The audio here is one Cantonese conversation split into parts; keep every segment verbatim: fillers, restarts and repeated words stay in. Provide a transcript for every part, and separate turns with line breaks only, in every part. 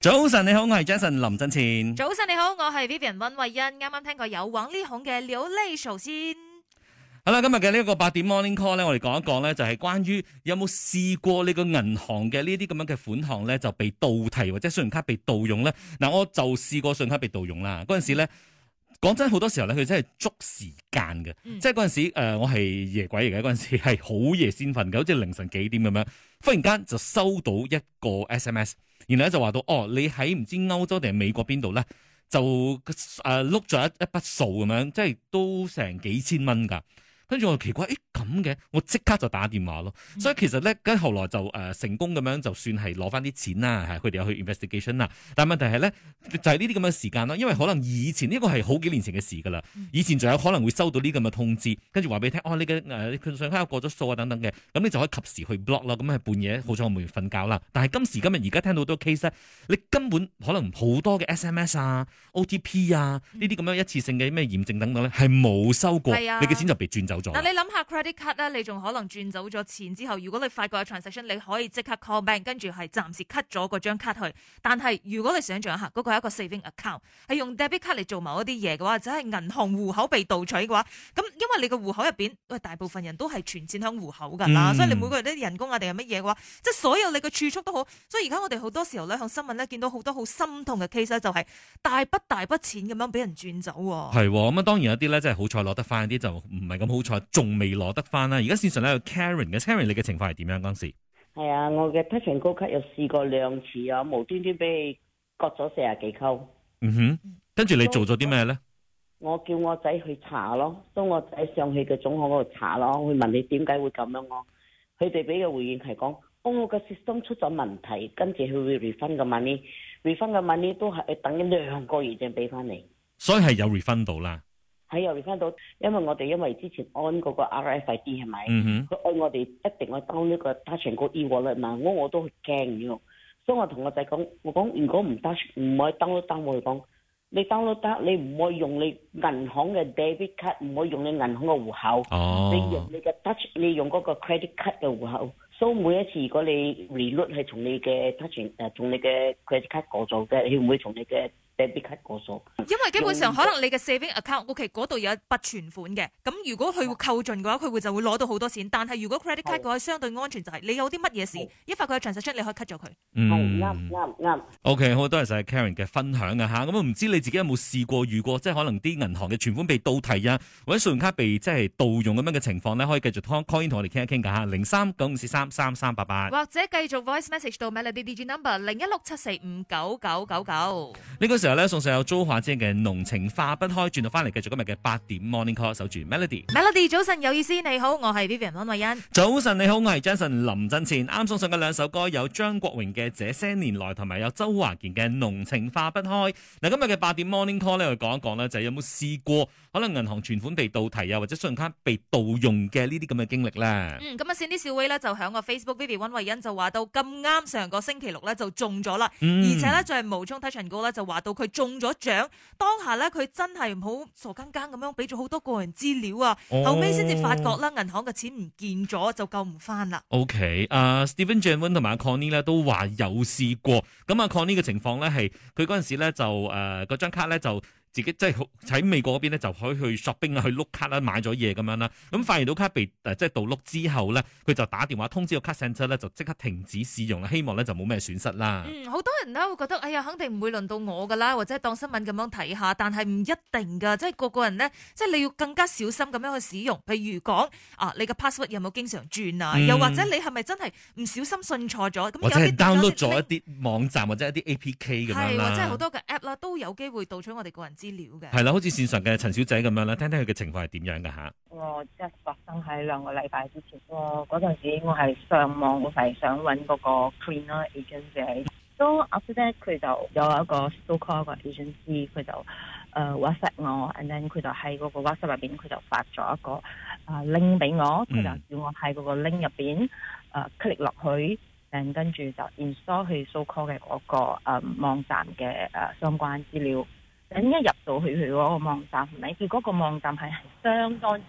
早晨你好，我係 Jason 林振前。
早晨你好，我係 Vivian 溫慧欣。啱啱聽過有王力宏嘅流淚首先。
好啦，今日嘅呢一個八點 Morning Call 咧，我哋講一講咧，就係關於有冇試過呢個銀行嘅呢啲咁樣嘅款項咧，就被盜提或者信用卡被盜用咧。嗱，我就試過信用卡被盜用啦。嗰陣時咧，講真好多時候咧，佢真係捉時間嘅，嗯、即係嗰陣時誒、呃，我係夜鬼嚟嘅，嗰陣時係好夜先瞓嘅，好似凌晨幾點咁樣，忽然間就收到一個 S M S。然後咧就話到，哦，你喺唔知歐洲定係美國邊度咧，就誒碌咗一一筆數咁樣，即係都成幾千蚊噶。跟住我就奇怪，誒咁嘅，我即刻就打電話咯。嗯、所以其實咧，跟後來就誒、呃、成功咁樣，就算係攞翻啲錢啦，係佢哋有去 investigation 啦。但係問題係咧，就係呢啲咁嘅時間咯，因為可能以前呢、呢個係好幾年前嘅事噶啦，以前仲有可能會收到呢咁嘅通知，跟住話俾你聽，哦，你嘅誒信用卡過咗數啊等等嘅，咁你就可以及時去 block 啦。咁係半夜，好彩我冇瞓覺啦。但係今時今日而家聽到好多 case 咧，你根本可能好多嘅 S M S 啊、O T P 啊呢啲咁樣一次性嘅咩驗證等等咧，係冇收過，
啊、
你嘅錢就被轉走。
嗱，你諗下 credit card 咧，你仲可能轉走咗錢之後，如果你發覺有 transaction，你可以即刻 call bank，跟住係暫時 cut 咗嗰張卡去。但係如果你想象一下，嗰、那個係一個 saving account，係用 debit card 嚟做某一啲嘢嘅話，或者係銀行戶口被盜取嘅話，咁因為你個戶口入邊，喂，大部分人都係存錢響戶口噶啦，嗯、所以你每個月啲人工啊定係乜嘢嘅話，即係所有你嘅儲蓄都好。所以而家我哋好多時候咧，向新聞咧見到好多好心痛嘅 case 咧，就係大筆大筆錢咁樣俾人轉走。
係咁啊，當然有啲咧，真係好彩攞得翻，啲就唔係咁好彩，仲未攞得翻啦。而家線上咧有 Karen 嘅 ，Karen 你嘅情況係點樣嗰陣時？
係啊，我嘅 Touch 'n Go 卡又試過兩次啊，無端端俾你割咗四十幾扣。
嗯哼，跟住你做咗啲咩咧？
我叫我仔去查咯，當我仔上去嘅總行嗰度查咯，會問你點解會咁樣咯。佢哋俾嘅回應係講，哦，我嘅 system 出咗問題，跟住佢會 refund 嘅 money，refund 嘅 money 都係等緊兩個月先俾翻你。所以係有 refund 到啦。係有 refund 到，因為我哋因為之前按嗰個 R F I D 係咪？嗯哼。佢按我哋一定要 down 呢個 Touch 'n Go e-wallet 嘛，我我都驚嘅。所以我同我仔講，我講如果唔 touch 唔可以 download down，我講你 download 得，你唔可以用你銀行嘅 debit card，唔可以用你銀行嘅戶口。哦。你用你嘅 touch，你用嗰個 credit card 嘅戶口。所以每一次如果你 reload 係從你嘅 touch 誒，從你嘅 credit card 過數嘅，你唔會從你嘅 debit card 過數。
因為基本上可能你嘅 saving account，OK 嗰度有一筆存款嘅，咁如果佢會扣盡嘅話，佢會就會攞到好多錢。但係如果 credit card 嘅話，相對安全就係你有啲乜嘢事，一發佢嘅 transaction，你可以 cut 咗佢。
嗯，
啱啱啱。
OK， 好多謝 Karen 嘅分享啊吓，咁唔知你自己有冇試過遇過，即係可能啲銀行嘅存款被盜提啊，或者信用卡被即係盜用咁樣嘅情況咧，可以繼續 call call in 同我哋傾一傾噶吓，零三九五四三三三八八，
或者繼續 voice message 到 Melody D J number 零一六七四五九九九九。呢
個時候咧，送上有租華姐嘅濃情化不開，轉到翻嚟繼續今日嘅八點 morning call，守住 Melody。
Melody 早晨有意思，你好，我係 Vivian 安慧欣。
早晨你好，我係 Jason 林振前。啱送上嘅兩首歌有張國榮嘅這些年來，同埋有周華健嘅濃情化不開。嗱，今日嘅八點 morning call 咧，我講一講咧，就係有冇試過可能銀行存款被盜提啊，或者信用卡被盜用嘅呢啲咁嘅經歷咧？
嗯，咁啊，先啲小威咧就響個 Facebook Vivian 安慧欣就話到咁啱上個星期六咧就中咗啦，嗯、而且咧就係無衝 Touch 'n Go咧就話到佢中咗獎。當下咧，佢真係唔好傻更更咁樣俾咗好多個人資料啊，哦、後尾先至發覺啦，銀行嘅錢唔見咗，就救唔翻啦。
OK，啊、uh, Stephen James 同埋阿 Connie 咧都話有試過，咁阿 Connie 嘅情況咧係佢嗰陣時咧就誒嗰張卡咧就。自己即係喺美國嗰邊咧，就可以去 shopping 啊，去碌卡啦，買咗嘢咁樣啦。咁發現到卡被誒即係盜碌之後咧，佢就打電話通知個卡 center 咧，就即刻停止使用啦。希望咧就冇咩損失啦。
嗯，好多人咧會覺得，哎呀，肯定唔會輪到我噶啦，或者當新聞咁樣睇下。但係唔一定噶，即係個個人咧，即係你要更加小心咁樣去使用。譬如講啊，你嘅 password 有冇經常轉啊？嗯、又或者你係咪真係唔小心信錯咗？咁
或者係 download 咗一啲網站或者一啲 A P K 咁樣啦。
係，或者係好多嘅 app 啦，都有機會盜取我哋個人資料嘅。
係啦，好似線上嘅陳小姐咁樣啦，聽聽佢嘅情況係點樣噶吓？
我即係發生喺兩個禮拜之前，我嗰陣時我係上網，我係想揾嗰個 cleaner agent 都 after that 佢就有一個 so call 個 agency， 佢就誒、uh, WhatsApp 我 and then 佢就喺嗰個 WhatsApp 入邊，佢就發咗一個啊、uh, link 俾我，佢就叫我喺嗰個 link 入邊誒 click 落去，然跟住就 install 去 so call 嘅嗰個誒、uh, 網站嘅誒、uh, 相關資料。咁一入到去佢嗰個網站，係咪？佢嗰個網站係相當之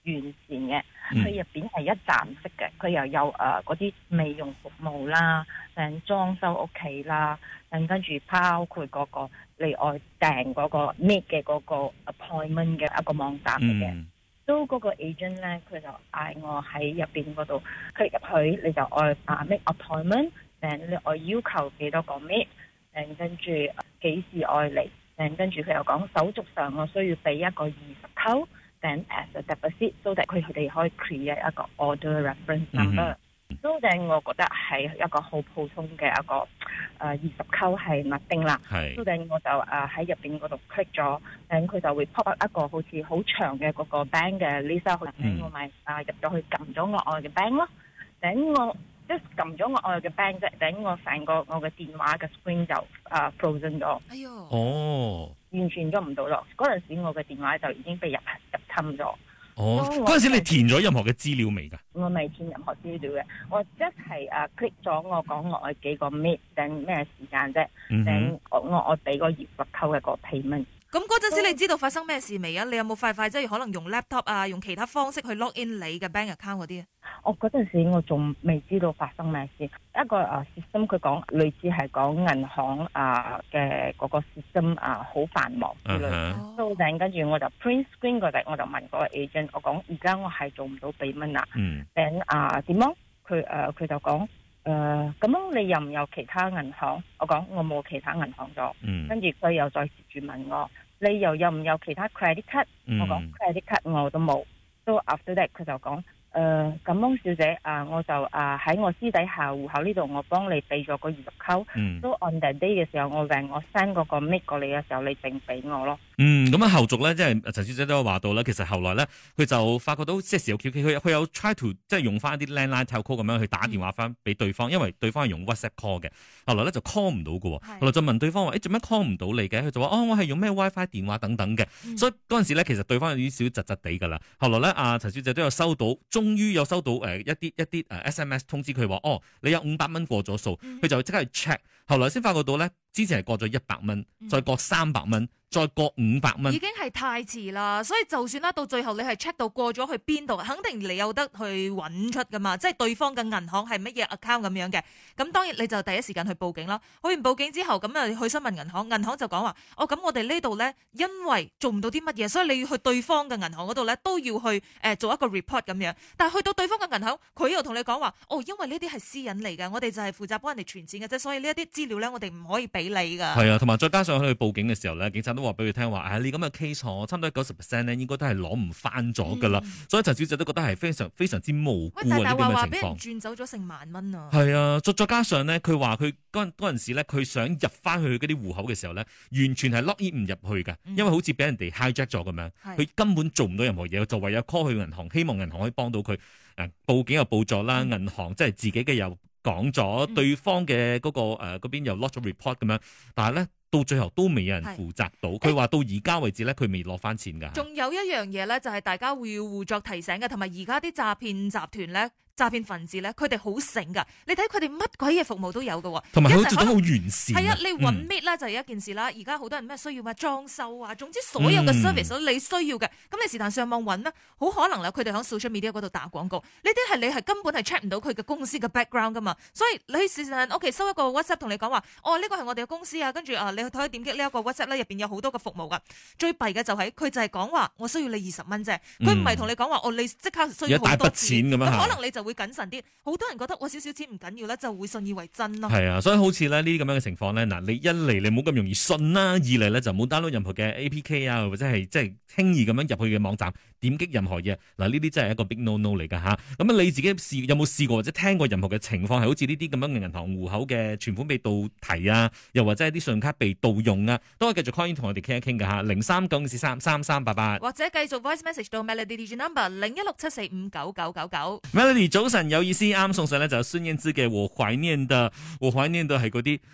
完善嘅，
嗯
佢入邊係一站式嘅，佢又有誒嗰啲美容服務啦，誒裝修屋企啦，誒跟住包括嗰個你外訂嗰個 meet 嘅嗰個 appointment 嘅一個網站嚟嘅。
嗯
都嗰個 agent 咧，佢就嗌我喺入邊嗰度 click 入去，你就愛啊 make appointment，誒你愛要求幾多個 meet，誒跟住幾時愛嚟，誒跟住佢又講手續上我需要俾一個二十溝，誒 as a deposit，so that 佢哋可以 create 一個 order reference number。so then 我覺得係一個好普通嘅一個誒二十溝係密定啦。
係
so then 我就誒喺入邊嗰度 click 咗，咁佢就會 pop up 一個好似好長嘅嗰個 bank 嘅 list，咁我咪啊入咗去撳咗我愛嘅 bank 咯。等我即係撳咗我愛嘅 bank 啫，等我成個我嘅電話嘅 screen 就啊 frozen 咗，
哎呦，
哦
完全喐唔到咯。嗰陣時我嘅電話就已經被入入侵咗。
哦，
咁我
嗰陣時你填咗任何嘅資料未㗎？
我未填任何資料嘅，我即係誒 click 咗我講我愛幾個 meet 定咩時間啫，
嗯哼
定我我我俾個二十溝嘅個 payment。
咁嗰陣時你知道發生咩事未啊？你有冇快快即係可能用 laptop 啊，用其他方式去 log in 你嘅 bank account 嗰啲啊？
我嗰陣時我仲未知道發生咩事，一個誒 system 佢講類似係講銀行啊嘅嗰個 system 啊好繁忙之類。
嗯
到頂跟住我就 print screen 嗰陣，我就問嗰個 agent，我講而家我係做唔到俾蚊啊。
嗯
頂啊點樣？佢誒佢就講誒咁樣你有唔有其他銀行？我講我冇其他銀行咗。
嗯
跟住佢又再接住問我，你又有唔有其他 credit card？
嗯
我講 credit card 我都冇。So after that 佢就講。誒，咁樣、呃、小姐啊，我就啊喺我私底下戶口呢度，我幫你俾咗個二十溝，
嗯
都 on that day 嘅時候，我讓我 send 嗰個 make 過你嘅時候，你淨俾我咯。
嗯，咁啊後續咧，即係陳小姐都有話到啦。其實後來咧，佢就發覺到即係時有蹊蹺，佢佢有 try to 即係用翻啲 landline telco 咁樣去打電話翻俾對方，因為對方係用 WhatsApp call 嘅。後來咧就 call 唔到嘅，後來就問對方話：誒做咩 call 唔到你嘅？佢就話：哦，我係用咩 WiFi 電話等等嘅。
嗯、
所以嗰陣時咧，其實對方有啲少窒窒地㗎啦。後來咧，阿陳小姐都有收到，終於有收到誒一啲一啲誒 S M S 通知佢話：哦，你有五百蚊過咗數，佢、
嗯、
就即刻去 check。後來先發覺到咧，之前係過咗一百蚊，再過三百蚊。再過五百蚊，
已經係太遲啦。所以就算啦，到最後你係 check 到過咗去邊度，肯定你有得去揾出噶嘛。即係對方嘅銀行係乜嘢 account 咁樣嘅。咁當然你就第一時間去報警啦。去完報警之後，咁啊去詢問銀行，銀行就講話：哦，咁我哋呢度咧，因為做唔到啲乜嘢，所以你要去對方嘅銀行嗰度咧，都要去誒、呃、做一個 report 咁樣。但係去到對方嘅銀行，佢又同你講話：哦，因為呢啲係私隱嚟㗎，我哋就係負責幫人哋存錢嘅啫，所以呢一啲資料咧，我哋唔可以俾你㗎。
係啊，同埋再加上去報警嘅時候咧，警察都話俾佢聽話：你咁嘅 case 我差唔多九十 percent 咧，應該都係攞唔翻咗噶啦。嗯、所以陳小姐都覺得係非常非常之無辜啊！呢啲咁嘅情況，俾人
轉走咗成萬蚊啊！
係啊，再再加上咧，佢話佢嗰嗰陣時咧，佢想入翻去嗰啲戶口嘅時候咧，完全係 lock in 唔入去噶，
嗯、
因為好似俾人哋 hijack 咗咁樣，佢是根本做唔到任何嘢，就唯有 call 去銀行，希望銀行可以幫到佢。誒，報警又報咗啦，銀、嗯、行即係自己嘅又講咗，嗯、對方嘅嗰、嗰個誒嗰邊又 lock 咗 report 咁樣，但係咧。到最後都未有人負責到，佢話是到而家為止咧，佢未攞翻錢㗎。
仲有一樣嘢咧，就係大家會要互作提醒嘅，同埋而家啲詐騙集團咧。詐騙分子咧，佢哋好醒噶，你睇佢哋乜鬼嘢服務都有噶，
同埋佢做得好完善。
係啊，你搵 meet 咧就係一件事啦。而家好多人咩需要咩裝修啊，總之所有嘅 service 你需要嘅，咁、嗯、你是但上網搵咧，好可能啦，佢哋喺 social media 嗰度打廣告，呢啲係你係根本係 check 唔到佢嘅公司嘅 background 噶嘛。所以你事實上，OK 收一個 WhatsApp 同你講話，哦呢個係我哋嘅公司啊，跟住啊你去可以點擊呢一個 WhatsApp 咧，入邊有好多嘅服務噶。最弊嘅就係、是、佢就係講話我需要你二十蚊啫，佢唔係同你講話哦你即刻需要好多錢
咁樣，
可能你就會謹慎啲。好多人覺得我少少錢唔緊要啦，就會信以為真咯。
係啊，所以好似咧呢啲咁樣嘅情況咧，嗱，你一嚟你唔好咁容易信啦，二嚟咧就唔好 download 任何嘅 A P K 啊，或者係即係輕易咁樣入去嘅網站點擊任何嘢。嗱，呢啲真係一個 big no no 嚟噶吓。咁啊，你自己試有冇試過或者聽過任何嘅情況係好似呢啲咁樣嘅銀行戶口嘅存款被盜提啊，又或者係啲信用卡被盜用啊，都可以繼續 call in 同我哋傾一傾噶吓，零三九四三三三八八，
或者繼續 voice message 到 Melody Digi number 零一六七四五九九九九。
Melody 早晨有意思啱送上咧就孫燕姿嘅我懷念的，我懷念的係嗰啲。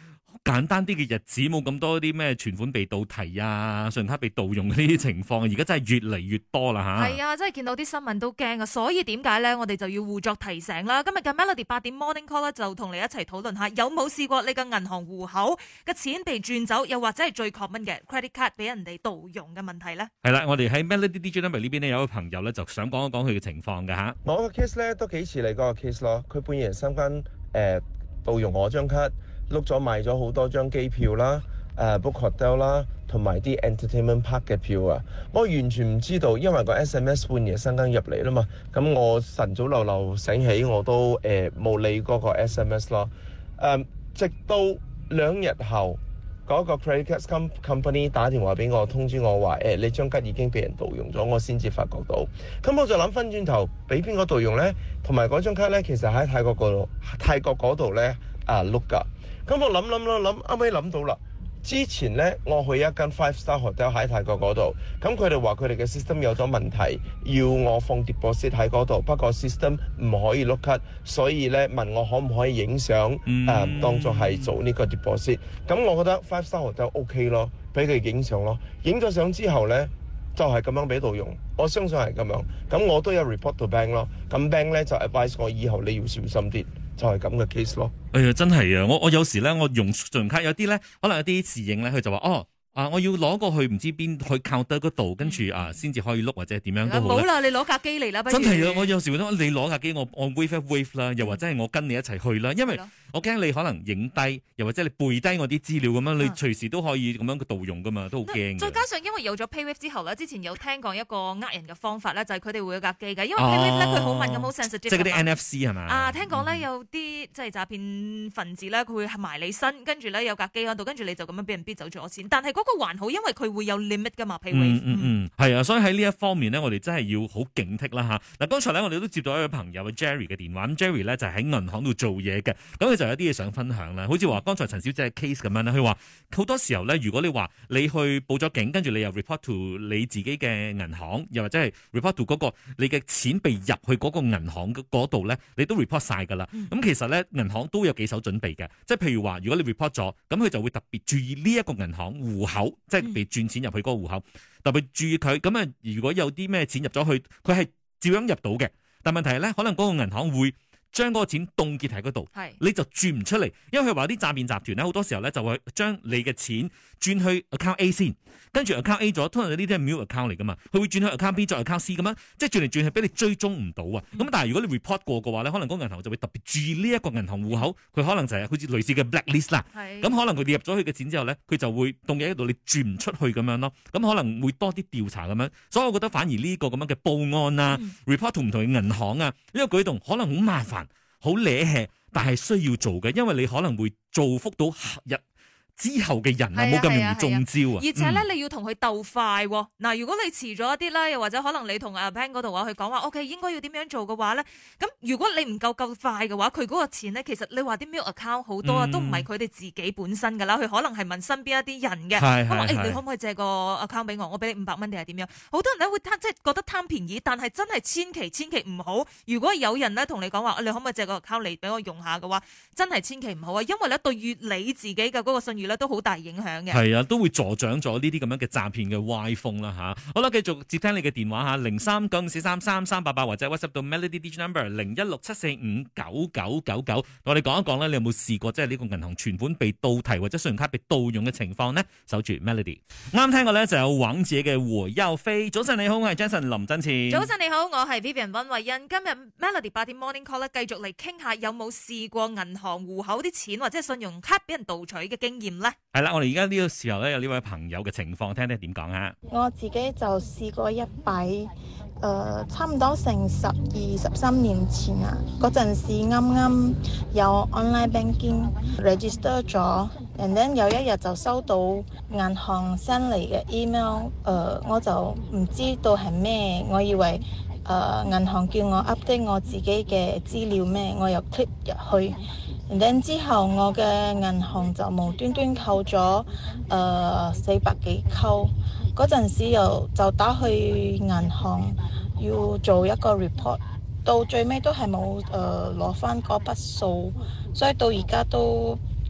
簡單啲嘅日子，冇咁多啲咩存款被盜提啊、信用卡被盜用呢啲情況，而家真係越嚟越多啦吓。
係啊，真係見到啲新聞都驚啊，所以點解咧？我哋就要互作提醒啦。今日嘅 Melody 八點 Morning Call 咧，就同你一齊討論下，有冇試過你嘅銀行戶口嘅錢被轉走，又或者係最 common 嘅 credit card 俾人哋盜用嘅問題咧？係
啦，我哋喺 Melody D J Number 呢邊呢，有個朋友咧就想講一講佢嘅情況嘅吓。
我個 case 咧都幾似你嗰個 case 咯，佢半夜三更誒盜用我張卡，碌咗買咗好多張機票啦、誒 book hotel 啦，同埋啲 entertainment park 嘅票啊，我完全唔知道，因為個 S M S 半夜三更入嚟啦嘛，咁我晨早流流醒起我都誒冇理嗰個 S M S 咯，誒直到兩日後。嗰個 credit card company 打電話俾我通知我話誒、欸，你張卡已經俾人盜用咗，我先至發覺到。咁我就諗翻轉頭，俾邊個盜用呢？同埋嗰張卡呢，其實喺泰國嗰度，泰國嗰度呢啊碌㗎。咁我諗諗諗諗，啱啱諗到啦。之前呢，我去一間 five star hotel 喺泰國嗰度，咁佢哋話佢哋嘅 system 有咗問題，要我放 deposit 喺嗰度，不過 system 唔可以碌卡，所以呢問我可唔可以影相誒當作係做呢個 deposit。咁我覺得 five star hotel OK 咯，俾佢影相咯，影咗相之後呢，就係、是、咁樣俾盜用，我相信係咁樣。咁我都有 report to bank 咯，咁 bank 呢就 advise 我以後你要小心啲。就係咁嘅 case 咯。
哎呀，真係啊！我我有時咧，我用信用卡有啲咧，可能有啲侍應咧，佢就話哦。啊！我要攞過去唔知邊去 counter 嗰度，跟住啊先至可以碌或者點樣都好。
冇啦，你攞架機嚟啦，不如。
真係啊！我有時覺得你攞架機，我我 wave 一 wave 啦，又或者係我跟你一齊去啦，因為我驚你可能影低，又或者你背低我啲資料咁樣，你隨時都可以咁樣盜用噶嘛，都好驚。
再加上因為有咗 PayWave 之後咧，之前有聽講一個呃人嘅方法咧，就係佢哋會有架機嘅，因為 PayWave 咧佢好敏感好 sensitive。即
係嗰啲 N F C 係嘛？
啊，聽講咧有啲即係詐騙分子咧，佢會埋你身，跟住咧有架機喺度，跟住你就咁樣俾人逼走咗錢。但係嗰個還好，因為佢會有 limit 噶嘛 ，PayWave。
嗯嗯嗯，係啊，所以喺呢一方面咧，我哋真係要好警惕啦吓。嗱，剛才咧我哋都接到一位朋友 Jerry 嘅電話，咁 Jerry 咧就喺銀行度做嘢嘅，咁佢就有啲嘢想分享啦。好似話剛才陳小姐嘅 case 咁樣啦，佢話好多時候咧，如果你話你去報咗警，跟住你又 report to 你自己嘅銀行，又或者係 report to 嗰個你嘅錢被入去嗰個銀行嗰度咧，你都 report 晒噶啦。咁、嗯、其實咧銀行都有幾手準備嘅，即係譬如話如果你 report 咗，咁佢就會特別注意呢一個銀行戶口，即係被轉錢入去嗰個戶口，特別注意佢。咁啊，如果有啲咩錢入咗去，佢係照樣入到嘅。但問題係咧，可能嗰個銀行會將嗰個錢凍結喺嗰度，你就轉唔出嚟，因為佢話啲詐騙集團咧，好多時候咧就會將你嘅錢轉去 account A 先，跟住 account A 咗，通常呢啲係 mule account 嚟噶嘛，佢會轉去 account B 再 account C 咁樣，即係轉嚟轉去俾你追蹤唔到啊。咁、嗯、但係如果你 report 過嘅話咧，可能嗰個銀行就會特別注意呢一個銀行戶口，佢可能就係好似類似嘅 blacklist 啦。咁可能佢哋入咗佢嘅錢之後咧，佢就會凍結喺度，你轉唔出去咁樣咯。咁可能會多啲調查咁樣，所以我覺得反而呢個咁樣嘅報案啊、嗯、report 同唔同嘅銀行啊，呢個舉動可能好麻煩。好惹氣，但係需要做嘅，因為你可能會造福到日之後嘅人啊，冇咁容易中招啊！
而且咧，嗯、你要同佢鬥快喎、哦。嗱，如果你遲咗一啲啦，又或者可能你同阿 Pan 嗰度話佢講話，OK 應該要點樣做嘅話咧，咁如果你唔夠夠快嘅話，佢嗰個錢咧，其實你話啲 mail account 好多啊，嗯、都唔係佢哋自己本身噶啦，佢可能係問身邊一啲人嘅，咁話誒，你可唔可以借個 account 俾我？我俾你五百蚊定係點樣？好多人咧會貪，即係覺得貪便宜，但係真係千祈千祈唔好。如果有人咧同你講話，你可唔可以借個 account 嚟俾我用下嘅話，真係千祈唔好啊，因為咧對於你自己嘅嗰個信譽咧都好大影響。
係啊，都會助長咗呢啲咁樣嘅詐騙嘅歪風啦吓。好啦，繼續接聽你嘅電話吓，零三九四三三三八八或者 WhatsApp 到 Melody Digital Number 零一六七四五九九九九，我哋講一講咧，你有冇試過即係呢個銀行存款被盜提或者信用卡被盜用嘅情況呢？守住 Melody， 啱聽過咧就有王者嘅和優飛。早晨你好，我係 Jason 林真前。
早晨你好，我係 Vivian 溫慧欣。今日 Melody 八點 Morning Call 咧，繼續嚟傾下有冇試過銀行戶口啲錢或者信用卡俾人盜取嘅經驗呢？
係啦，我哋而家呢個時候咧有呢位朋友嘅情況，聽聽點講啊？
我自己就試過一筆，誒、呃，差唔多成十二十三年前啊，嗰陣時啱啱有 online banking register 咗，and then 有一日就收到銀行 send 嚟嘅 email，誒、呃，我就唔知道係咩，我以為誒銀、呃、行叫我 update 我自己嘅資料咩，我又 click 入去。然後之後我嘅銀行就無端端扣咗誒四百幾扣，嗰陣時又就打去銀行要做一個 report， 到最尾都係冇誒攞翻嗰筆數，所以到而家都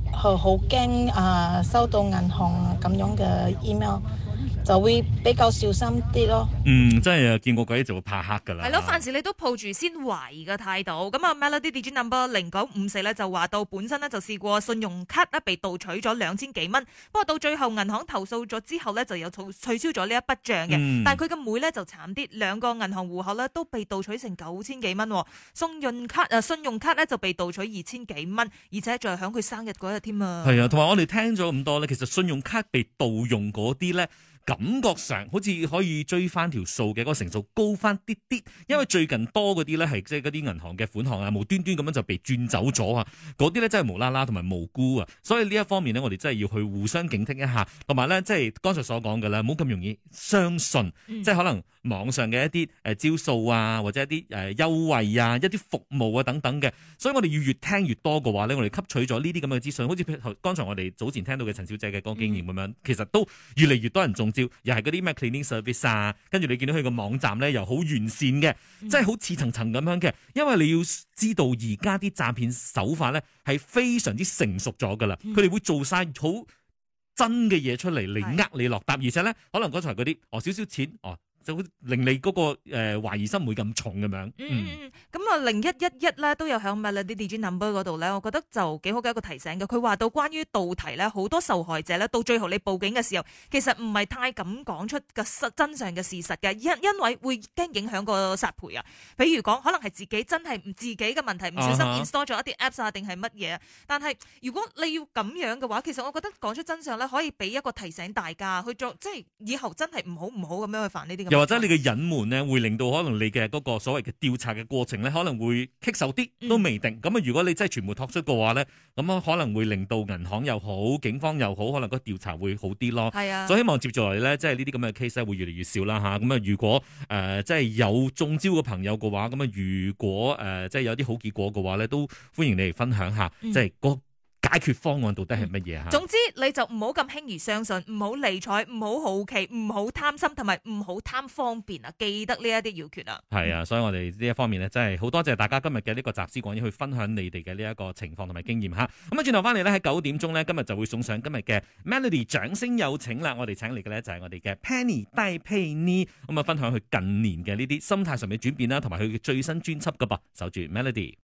好好驚啊收到銀行咁樣嘅 email，就會比較小心啲咯。
嗯，真係見過鬼就會怕黑噶啦。
係咯，凡事你都抱住先懷疑嘅態度。咁啊，Melody Digi Number 零九五四咧就話到本身咧就試過信用卡咧被盜取咗兩千幾蚊，不過到最後銀行投訴咗之後咧就有取取消咗呢一筆帳嘅。
嗯
但係佢嘅妹咧就慘啲，兩個銀行戶口咧都被盜取成九千幾蚊，信用卡啊信用卡咧就被盜取二千幾蚊，而且仲係響佢生日嗰日添啊。
係啊，同埋我哋聽咗咁多咧，其實信用卡被盜用嗰啲咧。感覺上好似可以追翻條數嘅嗰個成數高翻啲啲，因為最近多嗰啲咧係即係嗰啲銀行嘅款項啊，無端端咁樣就被轉走咗啊！嗰啲咧真係無啦啦同埋無辜啊，所以呢一方面呢，我哋真係要去互相警惕一下，同埋咧即係剛才所講嘅咧，唔好咁容易相信，
嗯、
即係可能網上嘅一啲誒招數啊，或者一啲誒優惠啊，一啲服務啊等等嘅，所以我哋要越聽越多嘅話咧，我哋吸取咗呢啲咁嘅資訊，好似譬如剛才我哋早前聽到嘅陳小姐嘅嗰個經驗咁樣，嗯、其實都越嚟越多人中。又係嗰啲咩 cleaning service 啊，跟住你見到佢個網站咧又好完善嘅，即係好似層層咁樣嘅。因為你要知道而家啲詐騙手法咧係非常之成熟咗噶啦，佢哋、嗯、會做晒好真嘅嘢出嚟嚟呃你落搭，而且咧可能剛才嗰啲哦少少錢哦。就會令你嗰、那個誒、呃、懷疑心唔會咁重咁樣。嗯
嗯咁啊零一一一咧都有響 Melody Digi Number 嗰度咧，我覺得就幾好嘅一個提醒嘅。佢話到關於盜題咧，好多受害者咧到最後你報警嘅時候，其實唔係太敢講出個實真相嘅事實嘅，因因為會驚影響個殺賠啊。比如講，可能係自己真係唔自己嘅問題，唔小心 install 咗一啲 apps 啊，定係乜嘢？但係如果你要咁樣嘅話，其實我覺得講出真相咧，可以俾一個提醒大家去做，即係以後真係唔好唔好咁樣去犯呢啲咁。
或者你嘅隱瞞咧，會令到可能你嘅嗰個所謂嘅調查嘅過程咧，可能會棘手啲，都未定。咁啊、嗯，如果你真係全部托出嘅話咧，咁啊可能會令到銀行又好，警方又好，可能個調查會好啲咯。係啊，所以希望接住落嚟咧，即係呢啲咁嘅 case 咧，會越嚟越少啦吓。咁啊，如果誒、呃、即係有中招嘅朋友嘅話，咁啊，如果誒、呃、即係有啲好結果嘅話咧，都歡迎你嚟分享下，嗯、即係個解決方案到底係乜嘢吓？
總之你就唔好咁輕易相信，唔好理睬，唔好好奇，唔好貪心，同埋唔好貪方便啊！記得呢一啲要訣啊！
係啊，所以我哋呢一方面咧，真係好多謝大家今日嘅呢個集思廣益去分享你哋嘅呢一個情況同埋經驗吓。咁啊，轉頭翻嚟咧喺九點鐘咧，今日就會送上今日嘅 Melody 掌聲有請啦！我哋請嚟嘅咧就係我哋嘅 Penny 戴佩妮，咁啊分享佢近年嘅呢啲心態上面轉變啦，同埋佢嘅最新專輯噶噃，守住 Melody。